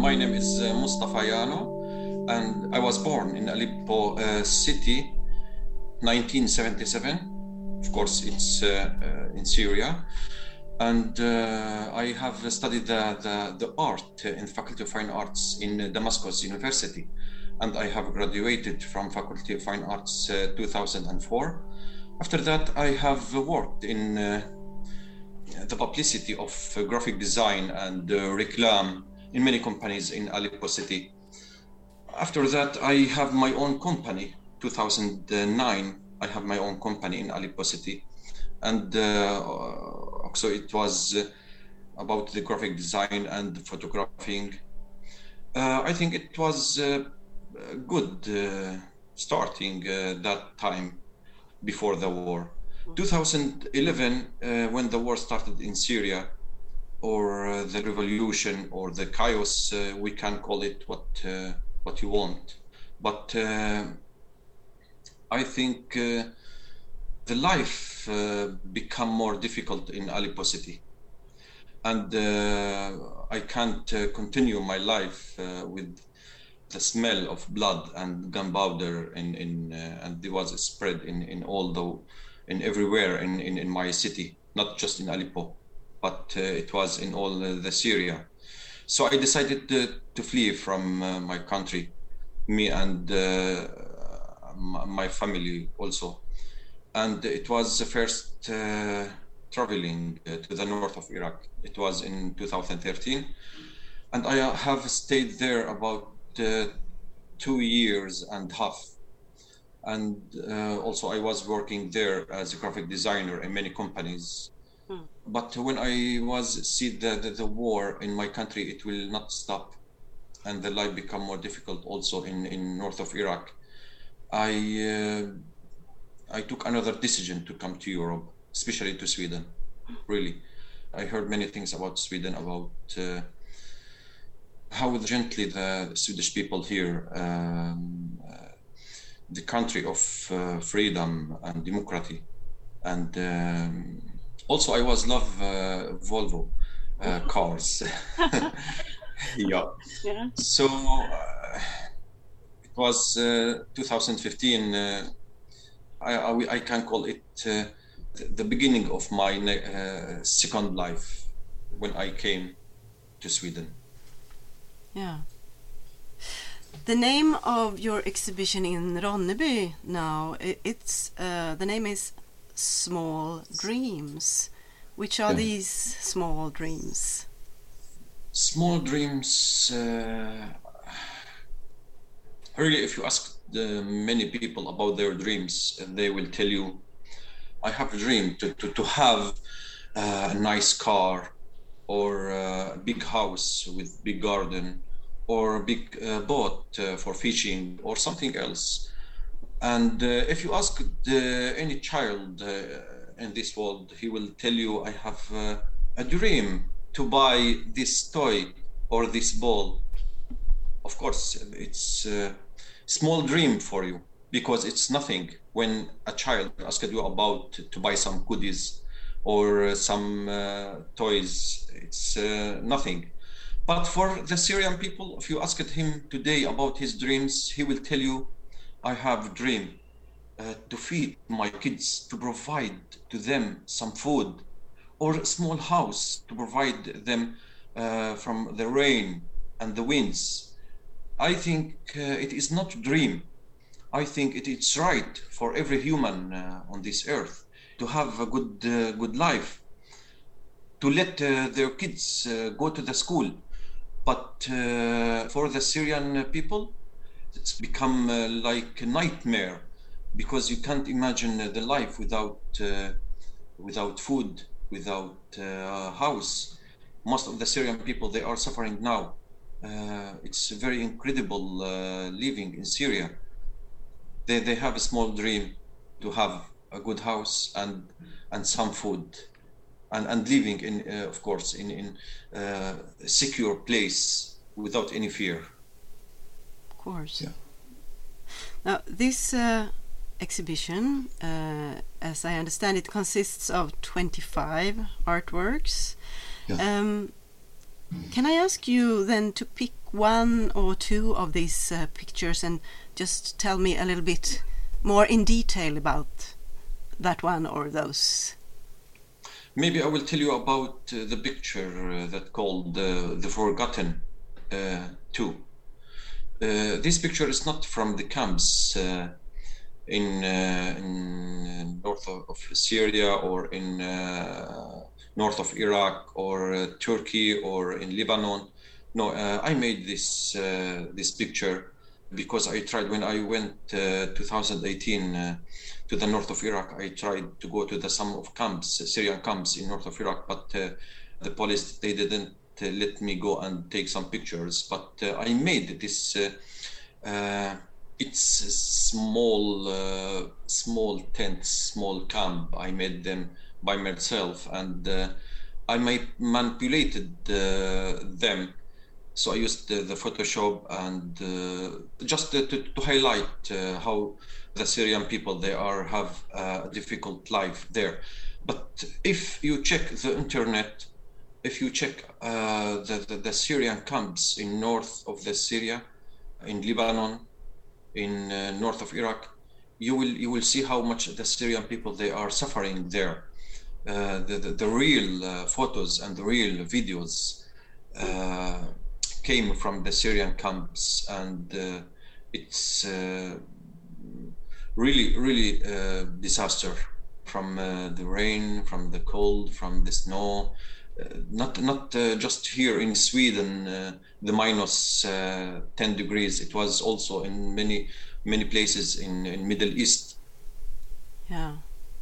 My name is Mustafa Yano, and I was born in Aleppo city, 1977. Of course, it's in Syria. And I have studied the art in Faculty of Fine Arts in Damascus University. And I have graduated from Faculty of Fine Arts 2004. After that, I have worked in the publicity of graphic design and reclam in many companies in Aleppo city. After that, I have my own company. 2009, I have my own company in Aleppo city. And so it was about the graphic design and photographing. I think it was good starting that time before the war. 2011, when the war started in Syria, or the revolution or the chaos, we can call it what you want. But I think the life become more difficult in Aleppo city, and I can't continue my life with the smell of blood and gunpowder and there was a spread in everywhere in my city, not just in Aleppo, but it was in all the Syria. So I decided to flee from my country, me and my family also. And it was the first traveling to the north of Iraq. It was in 2013. And I have stayed there about 2 years and a half. And also I was working there as a graphic designer in many companies. But when I see the war in my country, it will not stop. And the life become more difficult also in north of Iraq. I took another decision to come to Europe, especially to Sweden, really. I heard many things about Sweden, about how gently the Swedish people here, the country of freedom and democracy. And also I love Volvo cars. Yeah. So it was 2015, I can call it the beginning of my second life when I came to Sweden. Yeah. The name of your exhibition in Ronneby now, the name is Small Dreams. Which are these small dreams? Small dreams, really, if you ask many people about their dreams, they will tell you, I have a dream to have a nice car, or a big house with big garden, or a big boat for fishing, or something else. And if you ask any child in this world, he will tell you, I have a dream to buy this toy or this ball. Of course, it's a small dream for you, because it's nothing when a child asks you about to buy some goodies or some toys. It's nothing. But for the Syrian people, if you ask him today about his dreams, he will tell you, I have a dream to feed my kids, to provide to them some food, or a small house to provide them from the rain and the winds. I think it is not a dream. I think it's right for every human on this earth to have a good life, to let their kids go to the school. But for the Syrian people, it's become like a nightmare, because you can't imagine the life without food, without house. Most of the Syrian people, they are suffering now. It's very incredible living in Syria. They have a small dream to have a good house and some food, and living in, of course, in a secure place without any fear. Of course. Yeah. Now, this exhibition, as I understand it, consists of 25 artworks. Yeah. Can I ask you then to pick one or two of these pictures and just tell me a little bit more in detail about that one or those? Maybe I will tell you about the picture that called The Forgotten 2. This picture is not from the camps in north of Syria or in north of Iraq or Turkey or in Lebanon. No, I made this picture because I tried when I went 2018 to the north of Iraq. I tried to go to some of camps, Syrian camps in north of Iraq, but the police, they didn't let me go and take some pictures. But I made this. It's a small tents, small camp. I made them by myself, and I manipulated them. So I used the Photoshop and just to highlight how the Syrian people, they have a difficult life there. But if you check the internet, if you check the Syrian camps in north of the Syria, in Lebanon, in north of Iraq, you will see how much the Syrian people, they are suffering there. The real photos and the real videos came from the Syrian camps, and it's really disaster from the rain, from the cold, from the snow. Not just here in Sweden, the minus 10 degrees. It was also in many places in Middle East. Yeah.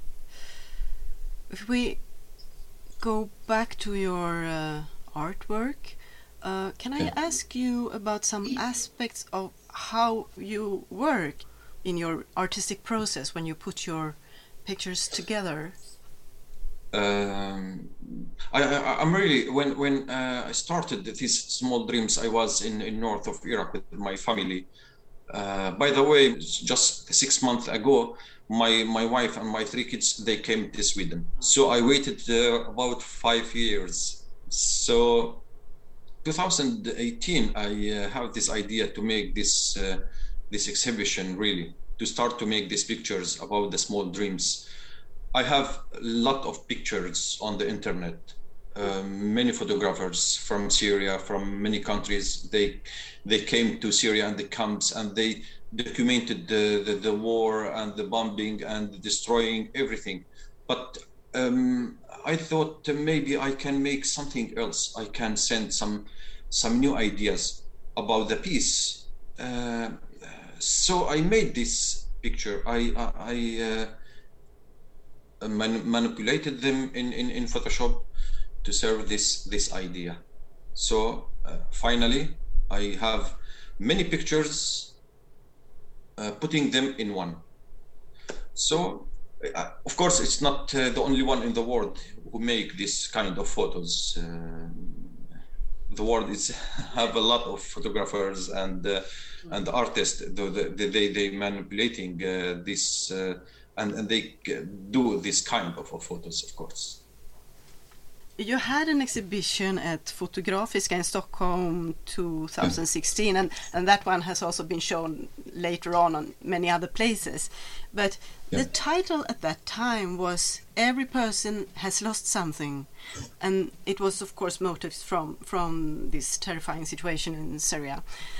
If we go back to your artwork, can I ask you about some aspects of how you work in your artistic process when you put your pictures together? I'm really, when I started these small dreams, I was in north of Iraq with my family. By the way, just 6 months ago, my wife and my 3 kids, they came to Sweden. So I waited about 5 years. So 2018, I have this idea to make this exhibition, really, to start to make these pictures about the small dreams. I have a lot of pictures on the internet. Many photographers from Syria, from many countries, they came to Syria and the camps, and they documented the war and the bombing and destroying everything. But I thought maybe I can make something else. I can send some new ideas about the peace. So I made this picture. I manipulated them in Photoshop to serve this idea. So finally, I have many pictures, putting them in one. So of course, it's not the only one in the world who make this kind of photos. The world have a lot of photographers and artists. They manipulating this. And they do this kind of photos, of course. You had an exhibition at Fotografiska in Stockholm 2016, and that one has also been shown later on many other places. But the title at that time was "Every Person Has Lost Something," and it was, of course, motives from this terrifying situation in Syria.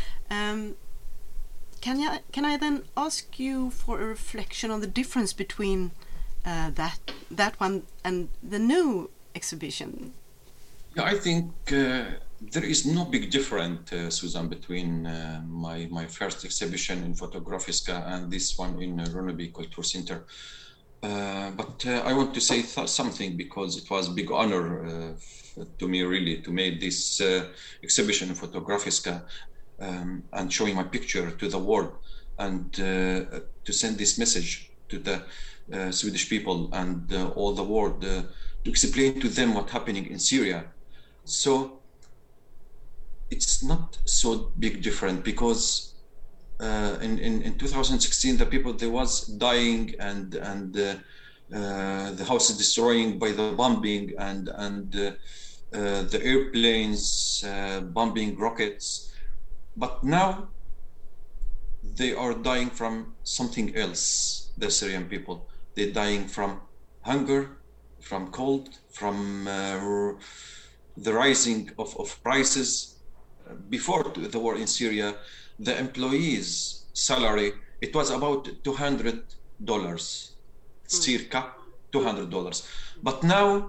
Can I then ask you for a reflection on the difference between that one and the new exhibition? Yeah, I think there is no big difference, Susan, between my first exhibition in Fotografiska and this one in Ronneby Culture Center. But I want to say something, because it was a big honor to me, really, to make this exhibition in Fotografiska. And showing my picture to the world, and to send this message to the Swedish people and all the world, to explain to them what's happening in Syria. So it's not so big different, because in 2016 the people, they was dying, and the house is destroying by the bombing, and the airplanes, bombing rockets. But now they are dying from something else, the Syrian people. They're dying from hunger, from cold, from the rising of prices. Before the war in Syria, the employees' salary, it was about $200, circa $200. But now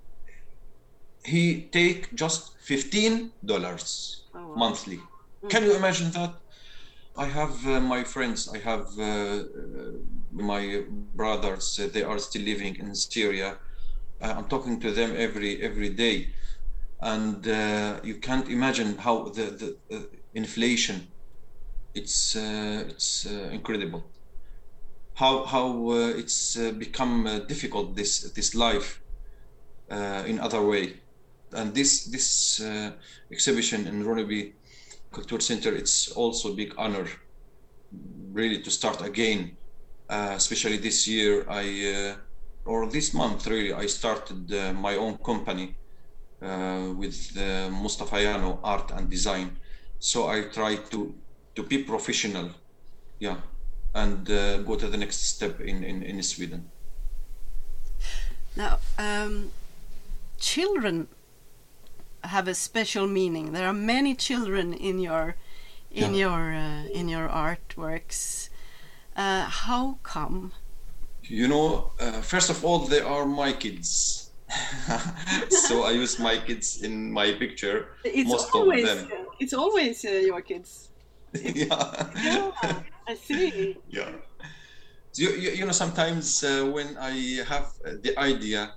he take just $15 monthly. Can you imagine that? I have my friends, I have my brothers, they are still living in Syria. I'm talking to them every day. And you can't imagine how the inflation, it's incredible. How it's become difficult, this life in other way. And this exhibition in Ronneby Culture Center, it's also a big honor, really, to start again. Especially this year, or this month, really, I started my own company with Mustafa Yano Art and Design. So I try to be professional, yeah, and go to the next step in Sweden. Now, children have a special meaning. There are many children in your artworks. How come? First of all, they are my kids. So I use my kids in my picture. Most of them. It's always your kids. Yeah, I see. Yeah. So, sometimes when I have the idea,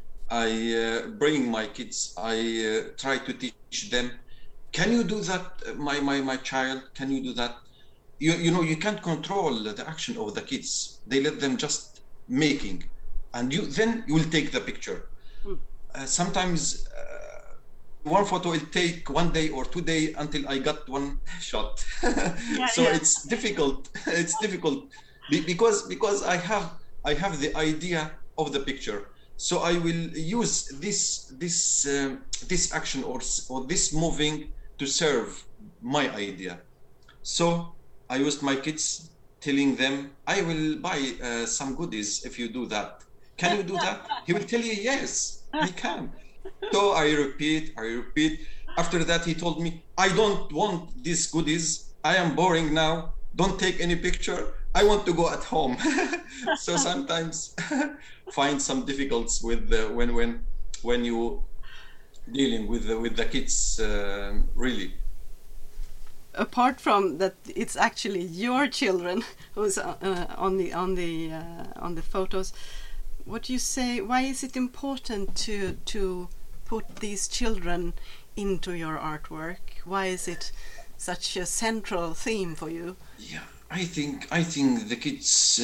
I bring my kids. I try to teach them. Can you do that, my child? Can you do that? You can't control the action of the kids. They let them just making, and then you will take the picture. Sometimes one photo will take 1 day or 2 days until I got one shot. It's difficult. It's difficult because I have the idea of the picture. So I will use this action or this moving to serve my idea. So I used my kids, telling them, I will buy some goodies if you do that. Can you do that? He will tell you, yes, I can. So I repeat. After that, he told me, I don't want these goodies. I am boring now. Don't take any picture. I want to go at home. So sometimes find some difficulties with when you dealing with the kids, really. Apart from that, it's actually your children who's on the photos. What do you say? Why is it important to put these children into your artwork? Why is it such a central theme for you? Yeah, I think the kids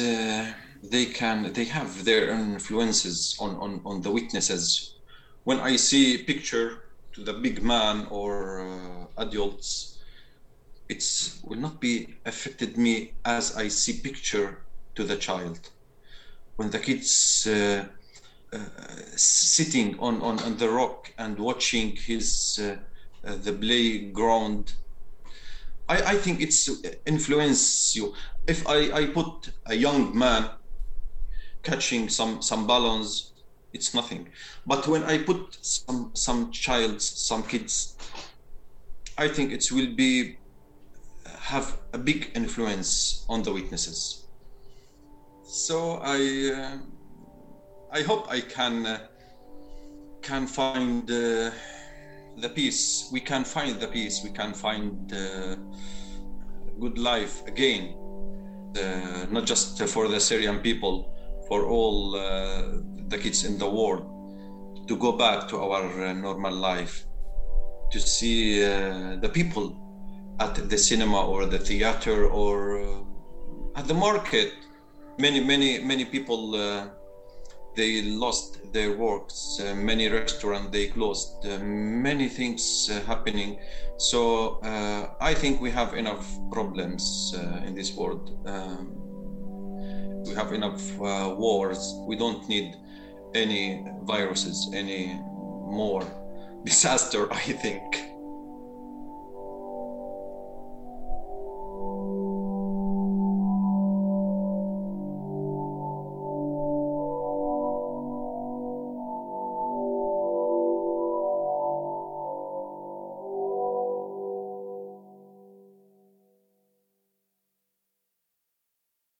they have their influences on the witnesses. When I see a picture to the big man or adults, it will not be affected me as I see picture to the child. When the kids sitting on the rock and watching his the playground, I think it's influence you. If I put a young man catching some balloons, it's nothing. But when I put some kids, I think it will have a big influence on the witnesses. So I hope I can find the peace. We can find the peace. We can find good life again. Not just for the Syrian people, for all the kids in the world, to go back to our normal life, to see the people at the cinema or the theater or at the market. Many people they lost their works. Many restaurants they closed. Many things happening. So I think we have enough problems in this world. We have enough wars. We don't need any viruses any more. disaster, I think.